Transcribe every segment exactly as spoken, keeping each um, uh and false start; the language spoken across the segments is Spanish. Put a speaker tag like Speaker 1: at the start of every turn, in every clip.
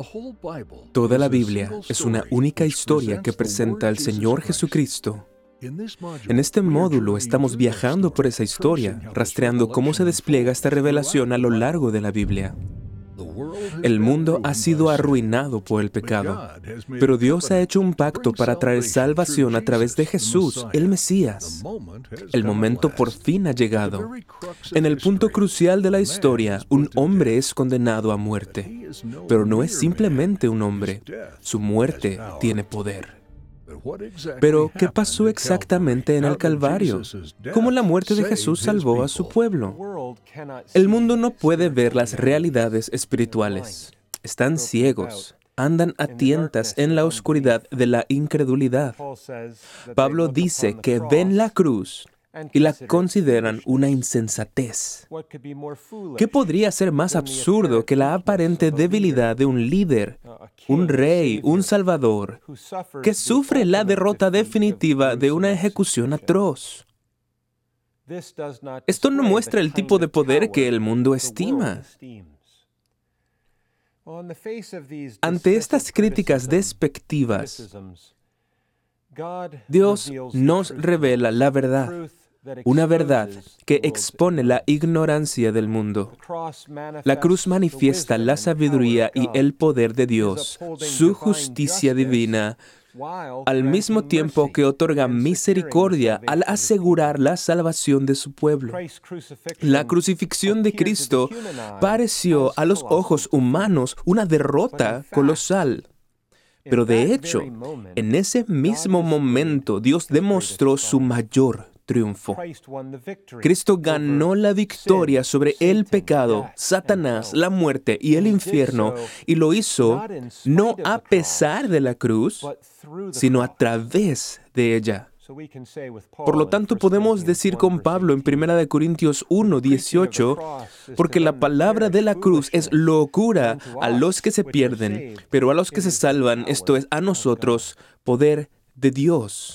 Speaker 1: Toda la Biblia es una única historia que presenta al Señor Jesucristo. En este módulo estamos viajando por esa historia, rastreando cómo se despliega esta revelación a lo largo de la Biblia. El mundo ha sido arruinado por el pecado, pero Dios ha hecho un pacto para traer salvación a través de Jesús, el Mesías. El momento por fin ha llegado. En el punto crucial de la historia, un hombre es condenado a muerte, pero no es simplemente un hombre. Su muerte tiene poder. Pero, ¿qué pasó exactamente en el Calvario? ¿Cómo la muerte de Jesús salvó a su pueblo? El mundo no puede ver las realidades espirituales. Están ciegos. Andan a tientas en la oscuridad de la incredulidad. Pablo dice que ven la cruz y la consideran una insensatez. ¿Qué podría ser más absurdo que la aparente debilidad de un líder, un rey, un salvador, que sufre la derrota definitiva de una ejecución atroz? Esto no muestra el tipo de poder que el mundo estima. Ante estas críticas despectivas, Dios nos revela la verdad. Una verdad que expone la ignorancia del mundo. La cruz manifiesta la sabiduría y el poder de Dios, su justicia divina, al mismo tiempo que otorga misericordia al asegurar la salvación de su pueblo. La crucifixión de Cristo pareció a los ojos humanos una derrota colosal. Pero de hecho, en ese mismo momento, Dios demostró su mayor triunfo. Cristo ganó la victoria sobre el pecado, Satanás, la muerte y el infierno, y lo hizo no a pesar de la cruz, sino a través de ella. Por lo tanto, podemos decir con Pablo en primera de Corintios uno, dieciocho, porque la palabra de la cruz es locura a los que se pierden, pero a los que se salvan, esto es, a nosotros, poder de Dios.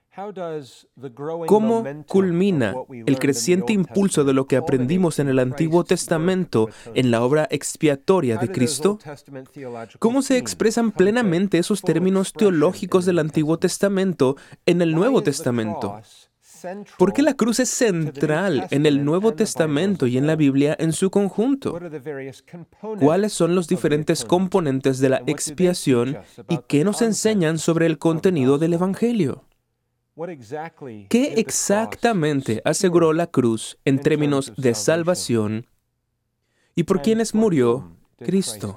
Speaker 1: ¿Cómo culmina el creciente impulso de lo que aprendimos en el Antiguo Testamento en la obra expiatoria de Cristo? ¿Cómo se expresan plenamente esos términos teológicos del Antiguo Testamento en el Nuevo Testamento? ¿Por qué la cruz es central en el Nuevo Testamento y en la Biblia en su conjunto? ¿Cuáles son los diferentes componentes de la expiación y qué nos enseñan sobre el contenido del Evangelio? ¿Qué exactamente aseguró la cruz en términos de salvación y por quienes murió Cristo?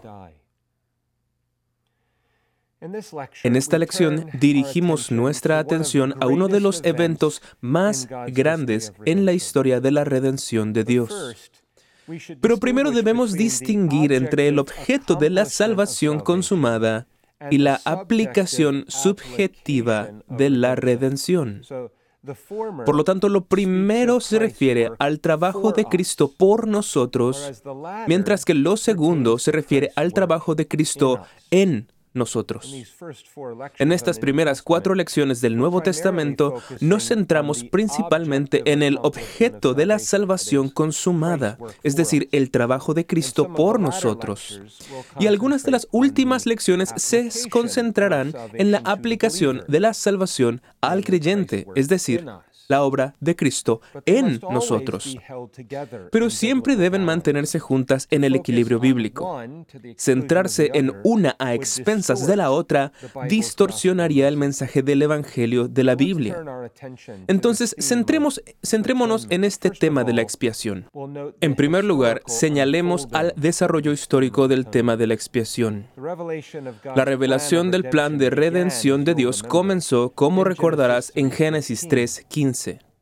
Speaker 1: En esta lección dirigimos nuestra atención a uno de los eventos más grandes en la historia de la redención de Dios. Pero primero debemos distinguir entre el objeto de la salvación consumada y la aplicación subjetiva de la redención. Por lo tanto, lo primero se refiere al trabajo de Cristo por nosotros, mientras que lo segundo se refiere al trabajo de Cristo en nosotros. En estas primeras cuatro lecciones del Nuevo Testamento nos centramos principalmente en el objeto de la salvación consumada, es decir, el trabajo de Cristo por nosotros. Y algunas de las últimas lecciones se concentrarán en la aplicación de la salvación al creyente, es decir, la obra de Cristo en nosotros. Pero siempre deben mantenerse juntas en el equilibrio bíblico. Centrarse en una a expensas de la otra distorsionaría el mensaje del Evangelio de la Biblia. Entonces, centremos, centrémonos en este tema de la expiación. En primer lugar, señalemos al desarrollo histórico del tema de la expiación. La revelación del plan de redención de Dios comenzó, como recordarás, en Génesis tres, quince.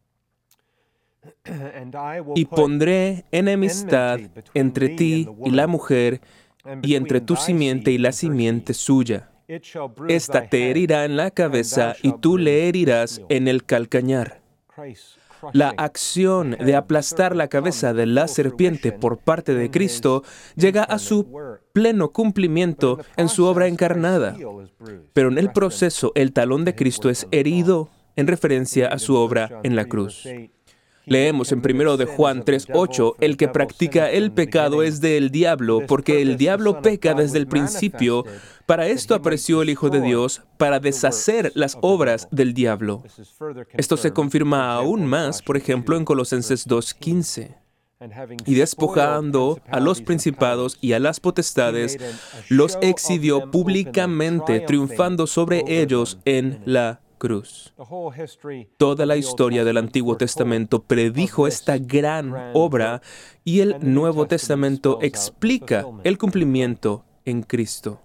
Speaker 1: Y pondré enemistad entre ti y la mujer, y entre tu simiente y la simiente suya. Esta te herirá en la cabeza, y tú le herirás en el calcañar. La acción de aplastar la cabeza de la serpiente por parte de Cristo llega a su pleno cumplimiento en su obra encarnada. Pero en el proceso, el talón de Cristo es herido en referencia a su obra en la cruz. Leemos en primero de Juan tres ocho, el que practica el pecado es del diablo, porque el diablo peca desde el principio. Para esto apareció el Hijo de Dios, para deshacer las obras del diablo. Esto se confirma aún más, por ejemplo, en Colosenses dos quince. Y despojando a los principados y a las potestades, los exhibió públicamente, triunfando sobre ellos en la cruz. Toda la historia del Antiguo Testamento predijo esta gran obra y el Nuevo Testamento explica el cumplimiento en Cristo.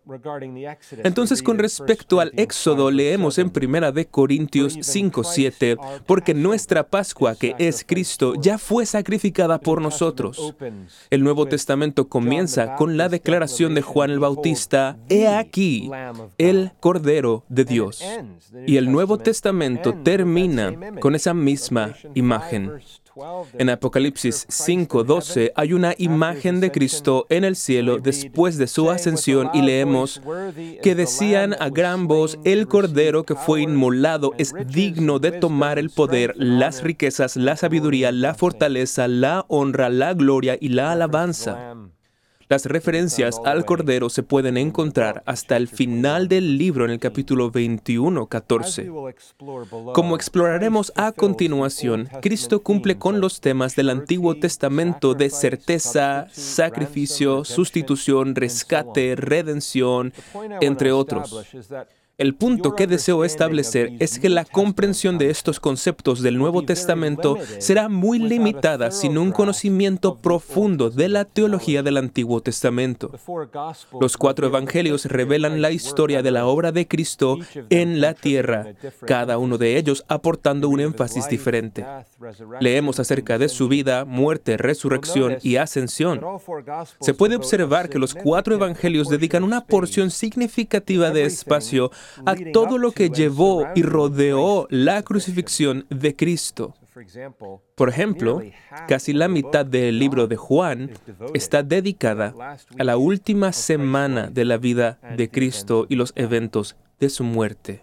Speaker 1: Entonces, con respecto al Éxodo, leemos en primera de Corintios cinco siete, porque nuestra Pascua, que es Cristo, ya fue sacrificada por nosotros. El Nuevo Testamento comienza con la declaración de Juan el Bautista, «He aquí, el Cordero de Dios». Y el Nuevo Testamento termina con esa misma imagen. En Apocalipsis cinco doce hay una imagen de Cristo en el cielo después de su ascensión y leemos que decían a gran voz, el Cordero que fue inmolado es digno de tomar el poder, las riquezas, la sabiduría, la fortaleza, la honra, la gloria y la alabanza. Las referencias al Cordero se pueden encontrar hasta el final del libro en el capítulo veintiuno catorce. Como exploraremos a continuación, Cristo cumple con los temas del Antiguo Testamento de certeza, sacrificio, sustitución, rescate, redención, entre otros. El punto que deseo establecer es que la comprensión de estos conceptos del Nuevo Testamento será muy limitada sin un conocimiento profundo de la teología del Antiguo Testamento. Los cuatro evangelios revelan la historia de la obra de Cristo en la tierra, cada uno de ellos aportando un énfasis diferente. Leemos acerca de su vida, muerte, resurrección y ascensión. Se puede observar que los cuatro evangelios dedican una porción significativa de espacio a todo lo que llevó y rodeó la crucifixión de Cristo. Por ejemplo, casi la mitad del libro de Juan está dedicada a la última semana de la vida de Cristo y los eventos de su muerte.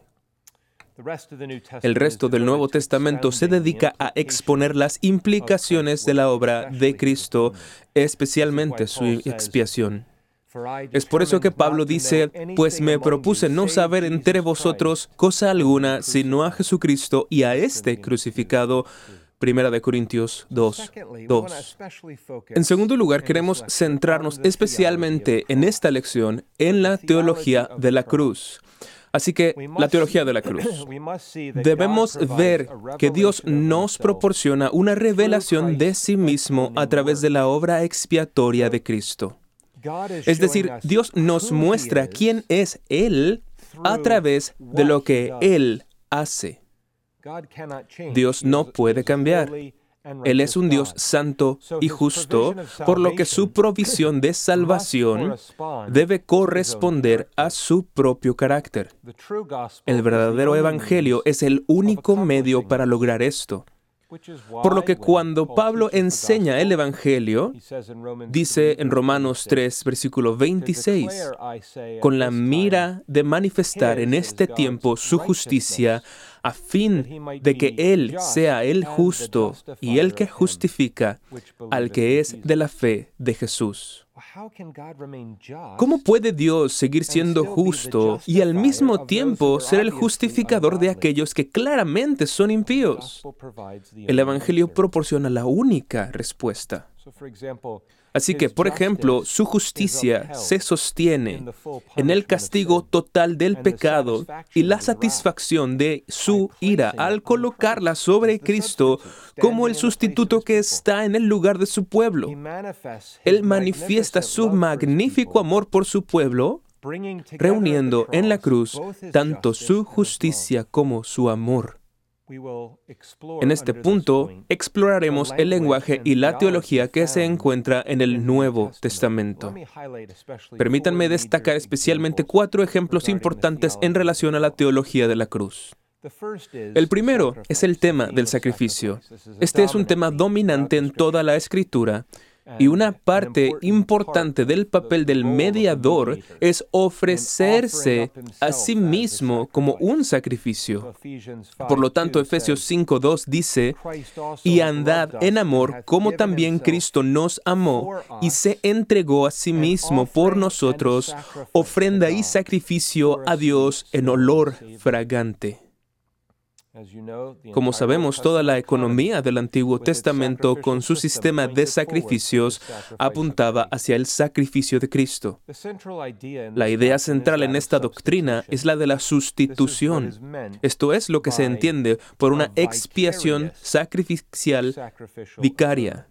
Speaker 1: El resto del Nuevo Testamento se dedica a exponer las implicaciones de la obra de Cristo, especialmente su expiación. Es por eso que Pablo dice, pues me propuse no saber entre vosotros cosa alguna, sino a Jesucristo y a este crucificado. Primera de Corintios dos dos. En segundo lugar, queremos centrarnos especialmente en esta lección en la teología de la cruz. Así que, la teología de la cruz. Debemos ver que Dios nos proporciona una revelación de sí mismo a través de la obra expiatoria de Cristo. Es decir, Dios nos muestra quién es Él a través de lo que Él hace. Dios no puede cambiar. Él es un Dios santo y justo, por lo que su provisión de salvación debe corresponder a su propio carácter. El verdadero evangelio es el único medio para lograr esto. Por lo que cuando Pablo enseña el Evangelio, dice en Romanos tres, versículo veintiséis, con la mira de manifestar en este tiempo su justicia, a fin de que Él sea el justo y el que justifica al que es de la fe de Jesús. ¿Cómo puede Dios seguir siendo justo y al mismo tiempo ser el justificador de aquellos que claramente son impíos? El Evangelio proporciona la única respuesta. Así que, por ejemplo, su justicia se sostiene en el castigo total del pecado y la satisfacción de su ira al colocarla sobre Cristo como el sustituto que está en el lugar de su pueblo. Él manifiesta su magnífico amor por su pueblo, reuniendo en la cruz tanto su justicia como su amor. En este punto, exploraremos el lenguaje y la teología que se encuentra en el Nuevo Testamento. Permítanme destacar especialmente cuatro ejemplos importantes en relación a la teología de la cruz. El primero es el tema del sacrificio. Este es un tema dominante en toda la Escritura Y una parte importante del papel del mediador es ofrecerse a sí mismo como un sacrificio. Por lo tanto, Efesios cinco dos dice, y andad en amor como también Cristo nos amó y se entregó a sí mismo por nosotros, ofrenda y sacrificio a Dios en olor fragante. Como sabemos, toda la economía del Antiguo Testamento con su sistema de sacrificios apuntaba hacia el sacrificio de Cristo. La idea central en esta doctrina es la de la sustitución. Esto es lo que se entiende por una expiación sacrificial vicaria.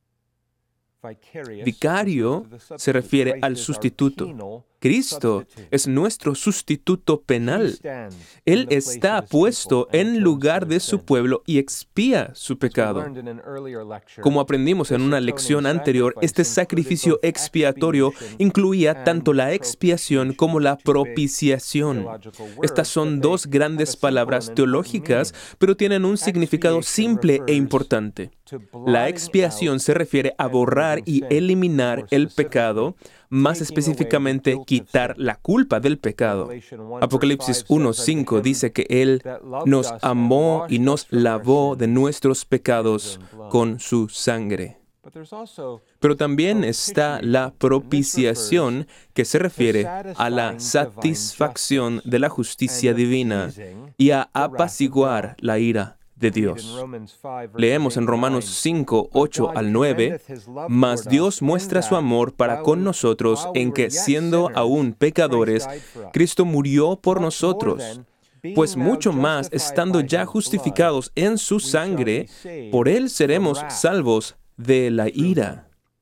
Speaker 1: Vicario se refiere al sustituto. Cristo es nuestro sustituto penal. Él está puesto en lugar de su pueblo y expía su pecado. Como aprendimos en una lección anterior, este sacrificio expiatorio incluía tanto la expiación como la propiciación. Estas son dos grandes palabras teológicas, pero tienen un significado simple e importante. La expiación se refiere a borrar y eliminar el pecado, más específicamente, quitar la culpa del pecado. Apocalipsis uno cinco dice que Él nos amó y nos lavó de nuestros pecados con su sangre. Pero también está la propiciación, que se refiere a la satisfacción de la justicia divina y a apaciguar la ira de Dios. Leemos en Romanos cinco, ocho al nueve, «Mas Dios muestra su amor para con nosotros en que, siendo aún pecadores, Cristo murió por nosotros. Pues mucho más, estando ya justificados en su sangre, por Él seremos salvos de la ira».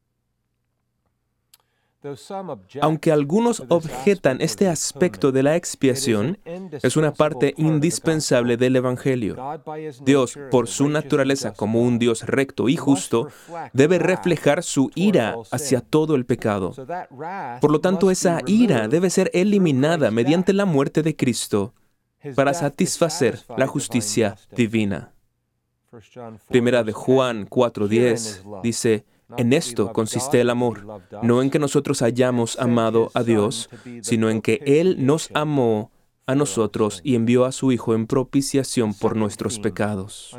Speaker 1: Aunque algunos objetan este aspecto de la expiación, es una parte indispensable del Evangelio. Dios, por su naturaleza como un Dios recto y justo, debe reflejar su ira hacia todo el pecado. Por lo tanto, esa ira debe ser eliminada mediante la muerte de Cristo para satisfacer la justicia divina. Primera de Juan cuatro diez dice, «En esto consiste el amor, no en que nosotros hayamos amado a Dios, sino en que Él nos amó a nosotros y envió a su Hijo en propiciación por nuestros pecados».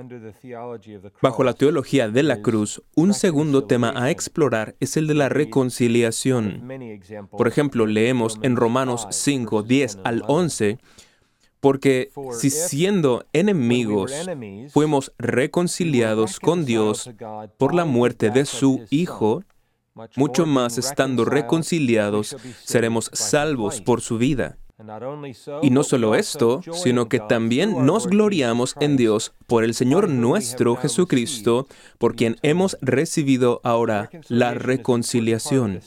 Speaker 1: Bajo la teología de la cruz, un segundo tema a explorar es el de la reconciliación. Por ejemplo, leemos en Romanos cinco, diez al once, «Porque si siendo enemigos fuimos reconciliados con Dios por la muerte de su Hijo, mucho más estando reconciliados seremos salvos por su vida». Y no solo esto, sino que también nos gloriamos en Dios por el Señor nuestro Jesucristo, por quien hemos recibido ahora la reconciliación.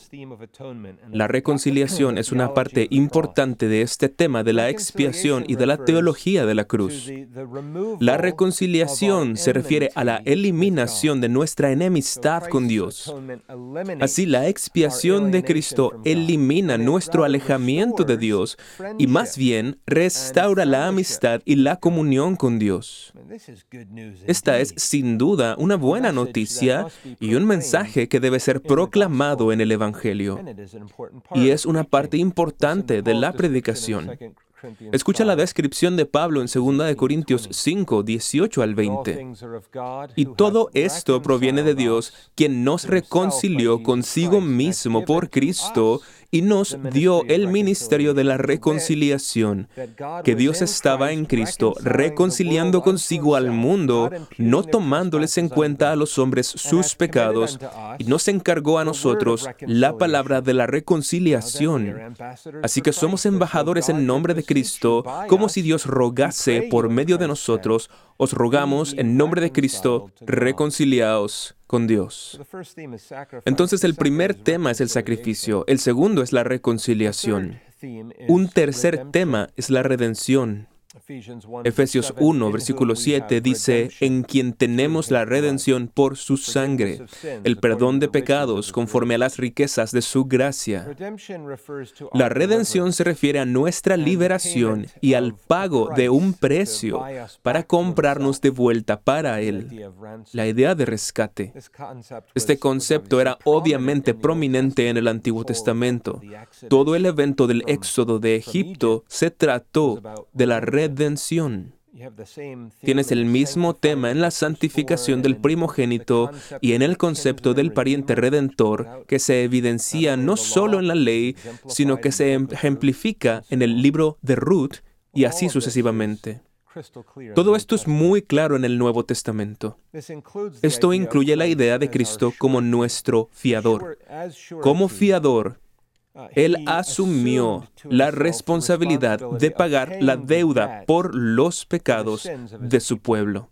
Speaker 1: La reconciliación es una parte importante de este tema de la expiación y de la teología de la cruz. La reconciliación se refiere a la eliminación de nuestra enemistad con Dios. Así, la expiación de Cristo elimina nuestro alejamiento de Dios y más bien restaura la amistad y la comunión con Dios. Esta es sin duda una buena noticia y un mensaje que debe ser proclamado en el Evangelio. Y es una parte importante de la predicación. Escucha la descripción de Pablo en segunda de Corintios cinco, dieciocho al veinte. «Y todo esto proviene de Dios, quien nos reconcilió consigo mismo por Cristo y nos dio el ministerio de la reconciliación, que Dios estaba en Cristo reconciliando consigo al mundo, no tomándoles en cuenta a los hombres sus pecados, y nos encargó a nosotros la palabra de la reconciliación. Así que somos embajadores en nombre de Cristo, como si Dios rogase por medio de nosotros. Os rogamos en nombre de Cristo, reconciliaos con Dios». Entonces el primer tema es el sacrificio, el segundo es la reconciliación. Un tercer tema es la redención. Efesios uno, versículo siete dice, en quien tenemos la redención por su sangre, el perdón de pecados conforme a las riquezas de su gracia. La redención se refiere a nuestra liberación y al pago de un precio para comprarnos de vuelta para Él. La idea de rescate. Este concepto era obviamente prominente en el Antiguo Testamento. Todo el evento del éxodo de Egipto se trató de la redención. Tienes el mismo tema en la santificación del primogénito y en el concepto del pariente redentor que se evidencia no solo en la ley, sino que se ejemplifica en el libro de Ruth y así sucesivamente. Todo esto es muy claro en el Nuevo Testamento. Esto incluye la idea de Cristo como nuestro fiador. Como fiador, Él asumió la responsabilidad de pagar la deuda por los pecados de su pueblo.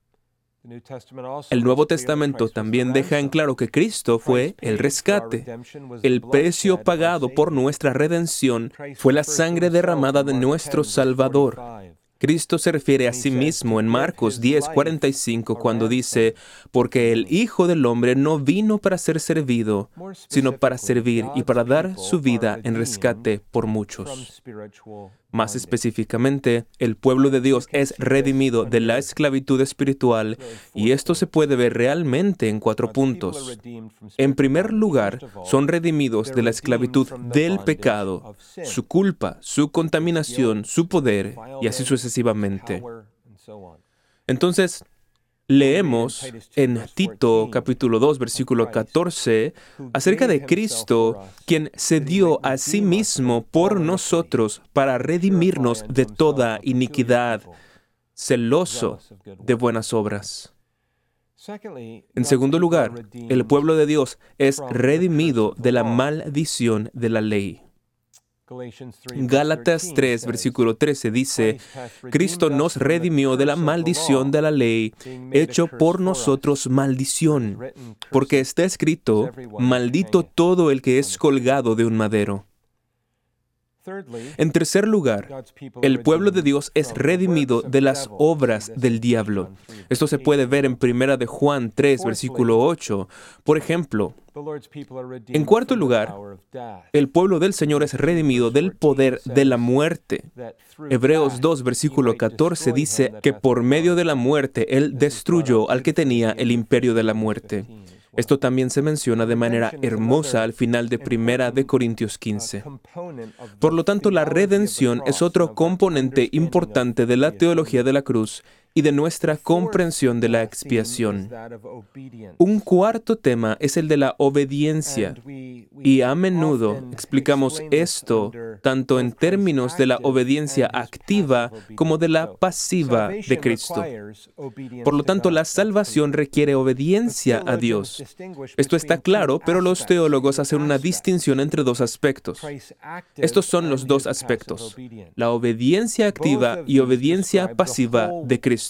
Speaker 1: El Nuevo Testamento también deja en claro que Cristo fue el rescate. El precio pagado por nuestra redención fue la sangre derramada de nuestro Salvador. Cristo se refiere a sí mismo en Marcos diez, cuarenta y cinco cuando dice, porque el Hijo del Hombre no vino para ser servido, sino para servir y para dar su vida en rescate por muchos. Más específicamente, el pueblo de Dios es redimido de la esclavitud espiritual y esto se puede ver realmente en cuatro puntos. En primer lugar, son redimidos de la esclavitud del pecado, su culpa, su contaminación, su poder y así sucesivamente. Entonces, leemos en Tito capítulo dos, versículo catorce, acerca de Cristo, quien se dio a sí mismo por nosotros para redimirnos de toda iniquidad, celoso de buenas obras. En segundo lugar, el pueblo de Dios es redimido de la maldición de la ley. Gálatas tres, versículo trece dice, Cristo nos redimió de la maldición de la ley, hecho por nosotros maldición, porque está escrito, maldito todo el que es colgado de un madero. En tercer lugar, el pueblo de Dios es redimido de las obras del diablo. Esto se puede ver en Primera de Juan tres, versículo ocho. Por ejemplo, en cuarto lugar, el pueblo del Señor es redimido del poder de la muerte. Hebreos dos, versículo catorce dice que por medio de la muerte Él destruyó al que tenía el imperio de la muerte. Esto también se menciona de manera hermosa al final de Primera de Corintios quince. Por lo tanto, la redención es otro componente importante de la teología de la cruz y de nuestra comprensión de la expiación. Un cuarto tema es el de la obediencia, y a menudo explicamos esto tanto en términos de la obediencia activa como de la pasiva de Cristo. Por lo tanto, la salvación requiere obediencia a Dios. Esto está claro, pero los teólogos hacen una distinción entre dos aspectos. Estos son los dos aspectos, la obediencia activa y obediencia pasiva de Cristo.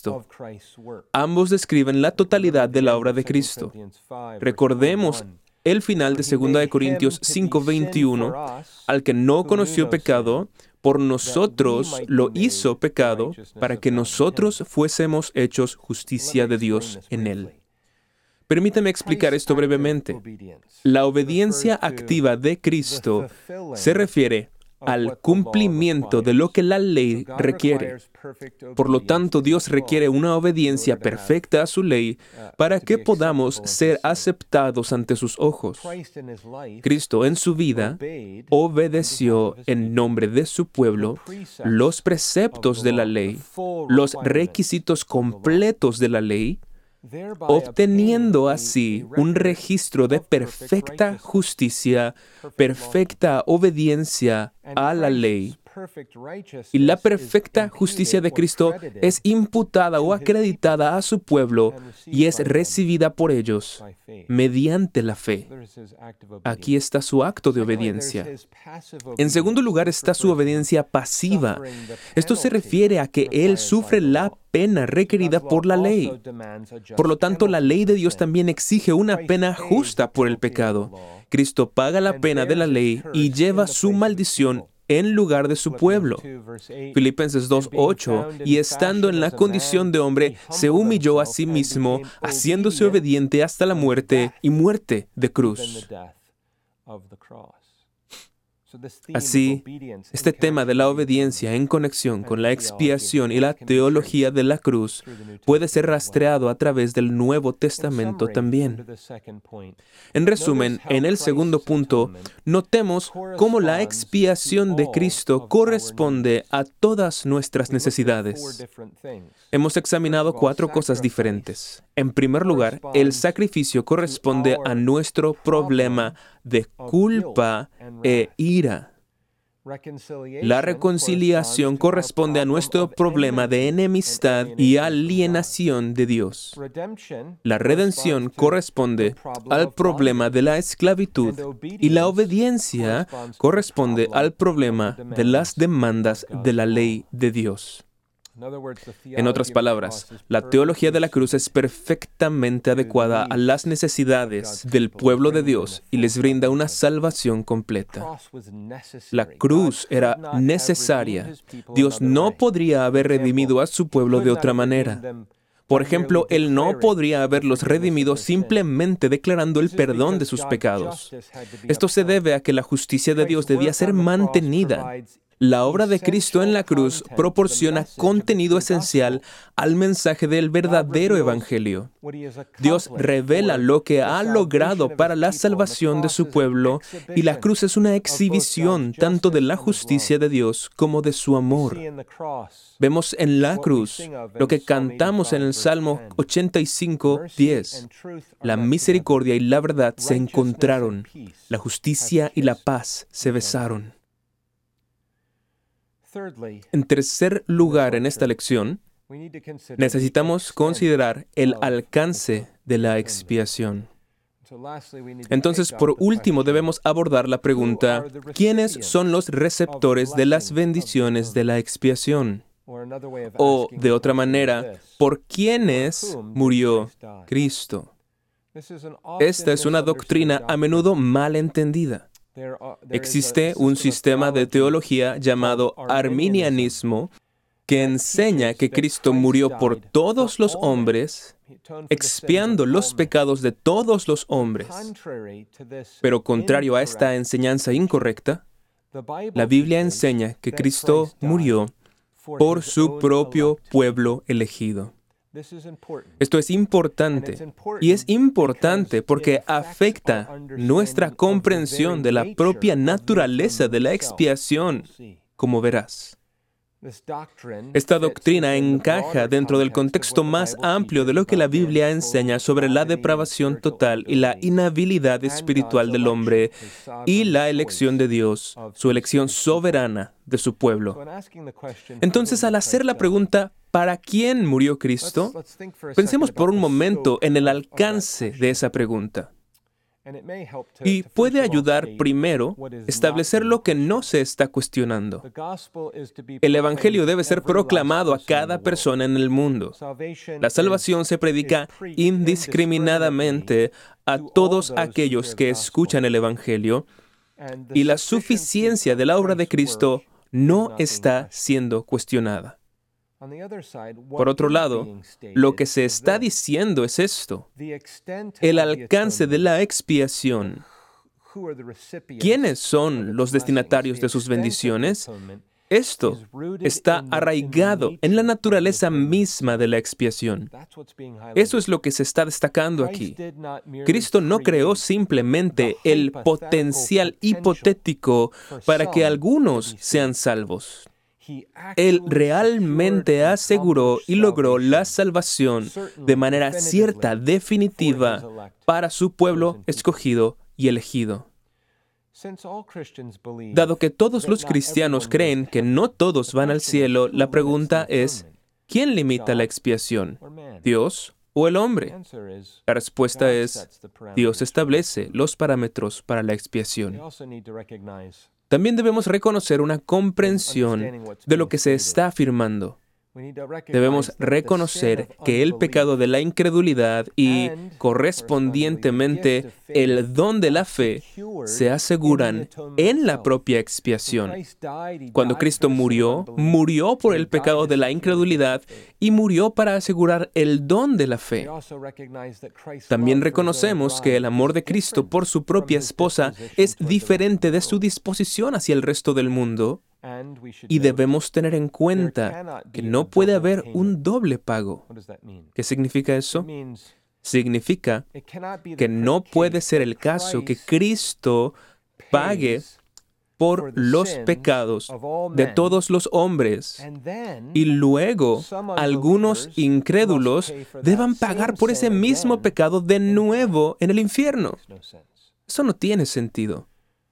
Speaker 1: Ambos describen la totalidad de la obra de Cristo. Recordemos el final de segunda de Corintios cinco, veintiuno, al que no conoció pecado, por nosotros lo hizo pecado, para que nosotros fuésemos hechos justicia de Dios en él. Permítame explicar esto brevemente. La obediencia activa de Cristo se refiere al cumplimiento de lo que la ley requiere. Por lo tanto, Dios requiere una obediencia perfecta a su ley para que podamos ser aceptados ante sus ojos. Cristo en su vida obedeció en nombre de su pueblo los preceptos de la ley, los requisitos completos de la ley, obteniendo así un registro de perfecta justicia, perfecta obediencia a la ley. Y la perfecta justicia de Cristo es imputada o acreditada a su pueblo y es recibida por ellos mediante la fe. Aquí está su acto de obediencia. En segundo lugar está su obediencia pasiva. Esto se refiere a que Él sufre la pena requerida por la ley. Por lo tanto, la ley de Dios también exige una pena justa por el pecado. Cristo paga la pena de la ley y lleva su maldición en lugar de su pueblo. Filipenses dos, ocho, y estando en la condición de hombre, se humilló a sí mismo, haciéndose obediente hasta la muerte y muerte de cruz. Así, este tema de la obediencia en conexión con la expiación y la teología de la cruz puede ser rastreado a través del Nuevo Testamento también. En resumen, en el segundo punto, notemos cómo la expiación de Cristo corresponde a todas nuestras necesidades. Hemos examinado cuatro cosas diferentes. En primer lugar, el sacrificio corresponde a nuestro problema de culpa e ira. La reconciliación corresponde a nuestro problema de enemistad y alienación de Dios. La redención corresponde al problema de la esclavitud y la obediencia corresponde al problema de las demandas de la ley de Dios. En otras palabras, la teología de la cruz es perfectamente adecuada a las necesidades del pueblo de Dios y les brinda una salvación completa. La cruz era necesaria. Dios no podría haber redimido a su pueblo de otra manera. Por ejemplo, Él no podría haberlos redimido simplemente declarando el perdón de sus pecados. Esto se debe a que la justicia de Dios debía ser mantenida. La obra de Cristo en la cruz proporciona contenido esencial al mensaje del verdadero Evangelio. Dios revela lo que ha logrado para la salvación de su pueblo, y la cruz es una exhibición tanto de la justicia de Dios como de su amor. Vemos en la cruz lo que cantamos en el Salmo ochenta y cinco, diez. La misericordia y la verdad se encontraron, la justicia y la paz se besaron. En tercer lugar, en esta lección, necesitamos considerar el alcance de la expiación. Entonces, por último, debemos abordar la pregunta, ¿quiénes son los receptores de las bendiciones de la expiación? O, de otra manera, ¿por quiénes murió Cristo? Esta es una doctrina a menudo mal entendida. Existe un sistema de teología llamado arminianismo que enseña que Cristo murió por todos los hombres, expiando los pecados de todos los hombres. Pero contrario a esta enseñanza incorrecta, la Biblia enseña que Cristo murió por su propio pueblo elegido. Esto es importante, y es importante porque afecta nuestra comprensión de la propia naturaleza de la expiación, como verás. Esta doctrina encaja dentro del contexto más amplio de lo que la Biblia enseña sobre la depravación total y la inhabilidad espiritual del hombre y la elección de Dios, su elección soberana de su pueblo. Entonces, al hacer la pregunta, ¿para quién murió Cristo? Pensemos por un momento en el alcance de esa pregunta. Y puede ayudar primero a establecer lo que no se está cuestionando. El Evangelio debe ser proclamado a cada persona en el mundo. La salvación se predica indiscriminadamente a todos aquellos que escuchan el Evangelio, y la suficiencia de la obra de Cristo no está siendo cuestionada. Por otro lado, lo que se está diciendo es esto: el alcance de la expiación. ¿Quiénes son los destinatarios de sus bendiciones? Esto está arraigado en la naturaleza misma de la expiación. Eso es lo que se está destacando aquí. Cristo no creó simplemente el potencial hipotético para que algunos sean salvos. Él realmente aseguró y logró la salvación de manera cierta, definitiva, para su pueblo escogido y elegido. Dado que todos los cristianos creen que no todos van al cielo, la pregunta es, ¿quién limita la expiación? ¿Dios o el hombre? La respuesta es, Dios establece los parámetros para la expiación. También debemos reconocer una comprensión de lo que se está afirmando. Debemos reconocer que el pecado de la incredulidad y, correspondientemente, el don de la fe se aseguran en la propia expiación. Cuando Cristo murió, murió por el pecado de la incredulidad y murió para asegurar el don de la fe. También reconocemos que el amor de Cristo por su propia esposa es diferente de su disposición hacia el resto del mundo. Y debemos tener en cuenta que no puede haber un doble pago. ¿Qué significa eso? Significa que no puede ser el caso que Cristo pague por los pecados de todos los hombres y luego algunos incrédulos deban pagar por ese mismo pecado de nuevo en el infierno. Eso no tiene sentido.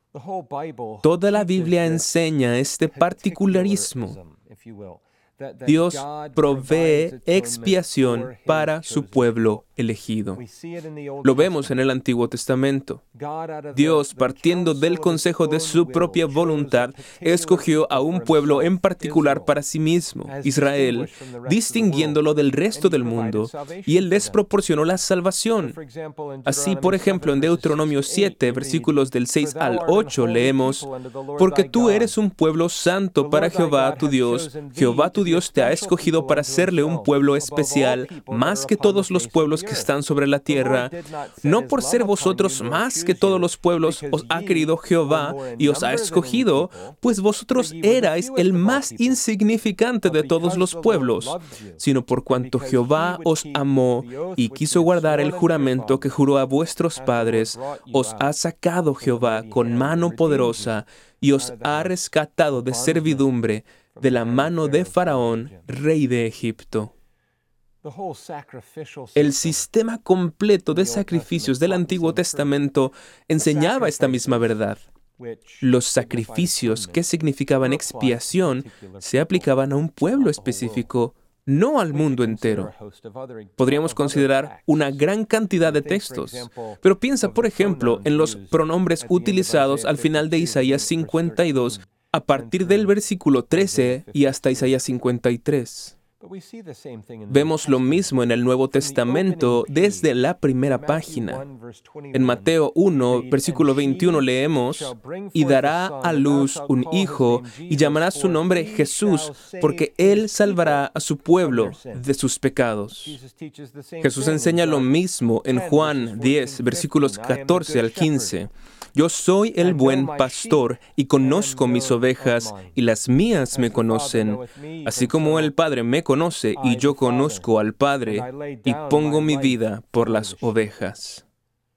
Speaker 1: Toda la Biblia enseña este particularismo. Dios provee expiación para su pueblo elegido. Lo vemos en el Antiguo Testamento. Dios, partiendo del consejo de su propia voluntad, escogió a un pueblo en particular para sí mismo, Israel, distinguiéndolo del resto del mundo, y Él les proporcionó la salvación. Así, por ejemplo, en Deuteronomio siete, versículos del seis al ocho, leemos: «Porque tú eres un pueblo santo para Jehová tu Dios. Jehová tu Dios te ha escogido para serle un pueblo especial, más que todos los pueblos que están sobre la tierra. No por ser vosotros más que todos los pueblos os ha querido Jehová y os ha escogido, pues vosotros erais el más insignificante de todos los pueblos, sino por cuanto Jehová os amó y quiso guardar el juramento que juró a vuestros padres, os ha sacado Jehová con mano poderosa y os ha rescatado de servidumbre, de la mano de Faraón, rey de Egipto». El sistema completo de sacrificios del Antiguo Testamento enseñaba esta misma verdad. Los sacrificios que significaban expiación se aplicaban a un pueblo específico, no al mundo entero. Podríamos considerar una gran cantidad de textos, pero piensa, por ejemplo, en los pronombres utilizados al final de Isaías cincuenta y dos, a partir del versículo trece y hasta Isaías cincuenta y tres. Vemos lo mismo en el Nuevo Testamento desde la primera página. En Mateo uno, versículo veintiuno leemos: «Y dará a luz un hijo, y llamará su nombre Jesús, porque él salvará a su pueblo de sus pecados». Jesús enseña lo mismo en Juan diez, versículos catorce al quince. «Yo soy el buen pastor, y conozco mis ovejas, y las mías me conocen, así como el Padre me conoce, y yo conozco al Padre, y pongo mi vida por las ovejas».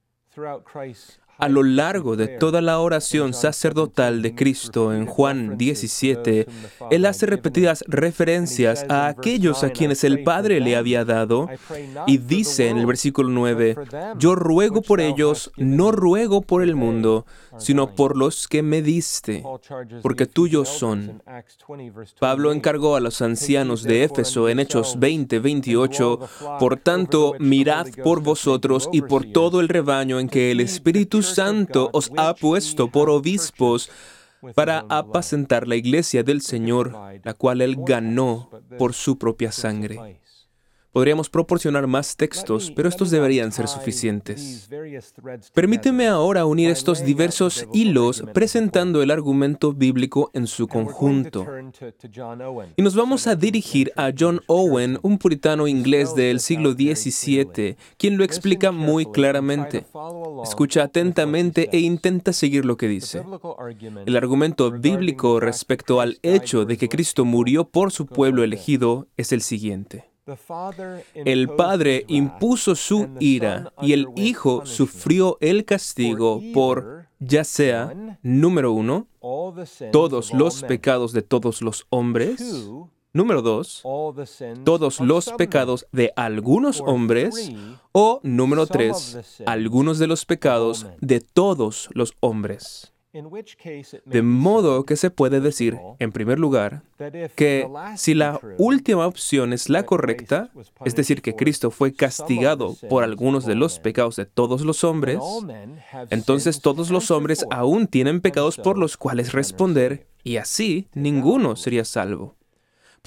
Speaker 1: A lo largo de toda la oración sacerdotal de Cristo en Juan diecisiete, Él hace repetidas referencias a aquellos a quienes el Padre le había dado, y dice en el versículo nueve: «Yo ruego por ellos, no ruego por el mundo, sino por los que me diste, porque tuyos son». Pablo encargó a los ancianos de Éfeso en Hechos veinte, veintiocho: «Por tanto, mirad por vosotros y por todo el rebaño en que el Espíritu Santo os ha puesto por obispos para apacentar la iglesia del Señor, la cual Él ganó por su propia sangre». Podríamos proporcionar más textos, pero estos deberían ser suficientes. Permíteme ahora unir estos diversos hilos presentando el argumento bíblico en su conjunto. Y nos vamos a dirigir a John Owen, un puritano inglés del siglo diecisiete, quien lo explica muy claramente. Escucha atentamente e intenta seguir lo que dice. El argumento bíblico respecto al hecho de que Cristo murió por su pueblo elegido es el siguiente. El Padre impuso su ira y el Hijo sufrió el castigo por, ya sea, número uno, todos los pecados de todos los hombres, número dos, todos los pecados de algunos hombres, o número tres, algunos de los pecados de todos los hombres. De modo que se puede decir, en primer lugar, que si la última opción es la correcta, es decir, que Cristo fue castigado por algunos de los pecados de todos los hombres, entonces todos los hombres aún tienen pecados por los cuales responder, y así ninguno sería salvo.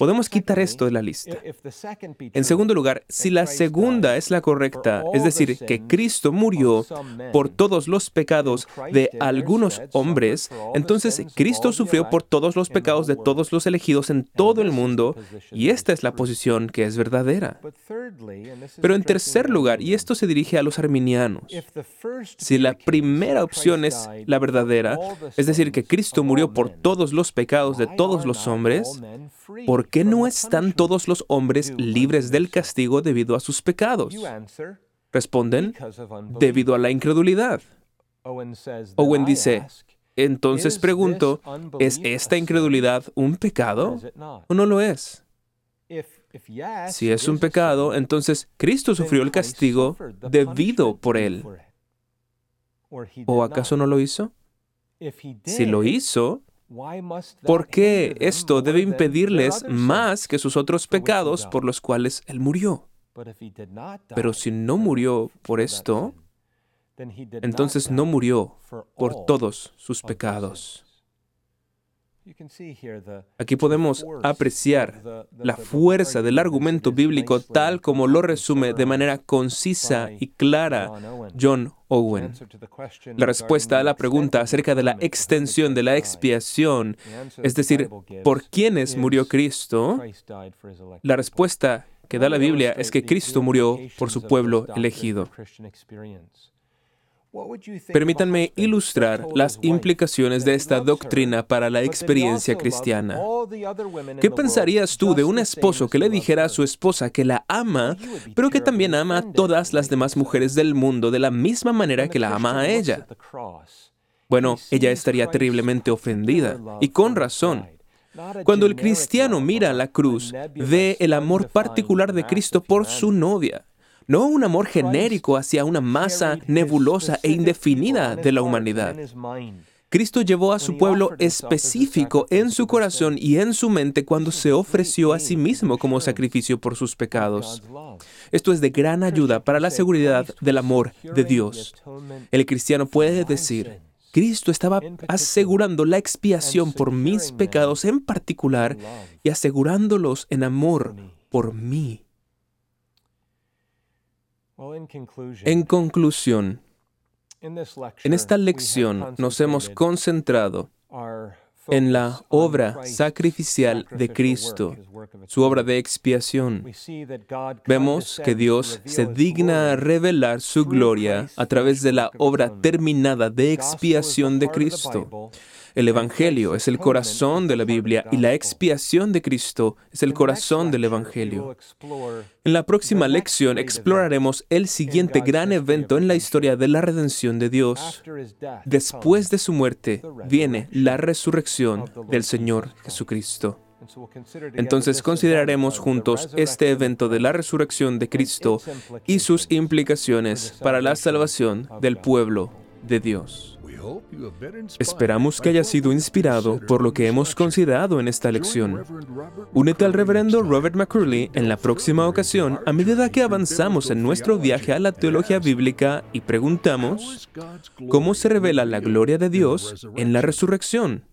Speaker 1: podemos quitar esto de la lista. En segundo lugar, si la segunda es la correcta, es decir, que Cristo murió por todos los pecados de algunos hombres, entonces Cristo sufrió por todos los pecados de todos los elegidos en todo el mundo, y esta es la posición que es verdadera. Pero en tercer lugar, y esto se dirige a los arminianos, si la primera opción es la verdadera, es decir, que Cristo murió por todos los pecados de todos los hombres, ¿por qué no están todos los hombres libres del castigo debido a sus pecados? Responden, debido a la incredulidad. Owen dice, entonces pregunto, ¿es esta incredulidad un pecado o no lo es? Si es un pecado, entonces Cristo sufrió el castigo debido por él. ¿O acaso no lo hizo? Si lo hizo, ¿por qué esto debe impedirles más que sus otros pecados por los cuales él murió? Pero si no murió por esto, entonces no murió por todos sus pecados. Aquí podemos apreciar la fuerza del argumento bíblico tal como lo resume de manera concisa y clara John Owen. La respuesta a la pregunta acerca de la extensión de la expiación, es decir, ¿por quiénes murió Cristo? La respuesta que da la Biblia es que Cristo murió por su pueblo elegido. Permítanme ilustrar las implicaciones de esta doctrina para la experiencia cristiana. ¿Qué pensarías tú de un esposo que le dijera a su esposa que la ama, pero que también ama a todas las demás mujeres del mundo de la misma manera que la ama a ella? Bueno, ella estaría terriblemente ofendida, y con razón. Cuando el cristiano mira la cruz, ve el amor particular de Cristo por su novia. No un amor genérico hacia una masa nebulosa e indefinida de la humanidad. Cristo llevó a su pueblo específico en su corazón y en su mente cuando se ofreció a sí mismo como sacrificio por sus pecados. Esto es de gran ayuda para la seguridad del amor de Dios. El cristiano puede decir, Cristo estaba asegurando la expiación por mis pecados en particular y asegurándolos en amor por mí. En conclusión, en esta lección nos hemos concentrado en la obra sacrificial de Cristo, su obra de expiación. Vemos que Dios se digna a revelar su gloria a través de la obra terminada de expiación de Cristo. El Evangelio es el corazón de la Biblia y la expiación de Cristo es el corazón del Evangelio. En la próxima lección exploraremos el siguiente gran evento en la historia de la redención de Dios. Después de su muerte viene la resurrección del Señor Jesucristo. Entonces consideraremos juntos este evento de la resurrección de Cristo y sus implicaciones para la salvación del pueblo de Dios. Esperamos que haya sido inspirado por lo que hemos considerado en esta lección. Únete al reverendo Robert McCurley en la próxima ocasión a medida que avanzamos en nuestro viaje a la teología bíblica y preguntamos, ¿cómo se revela la gloria de Dios en la resurrección?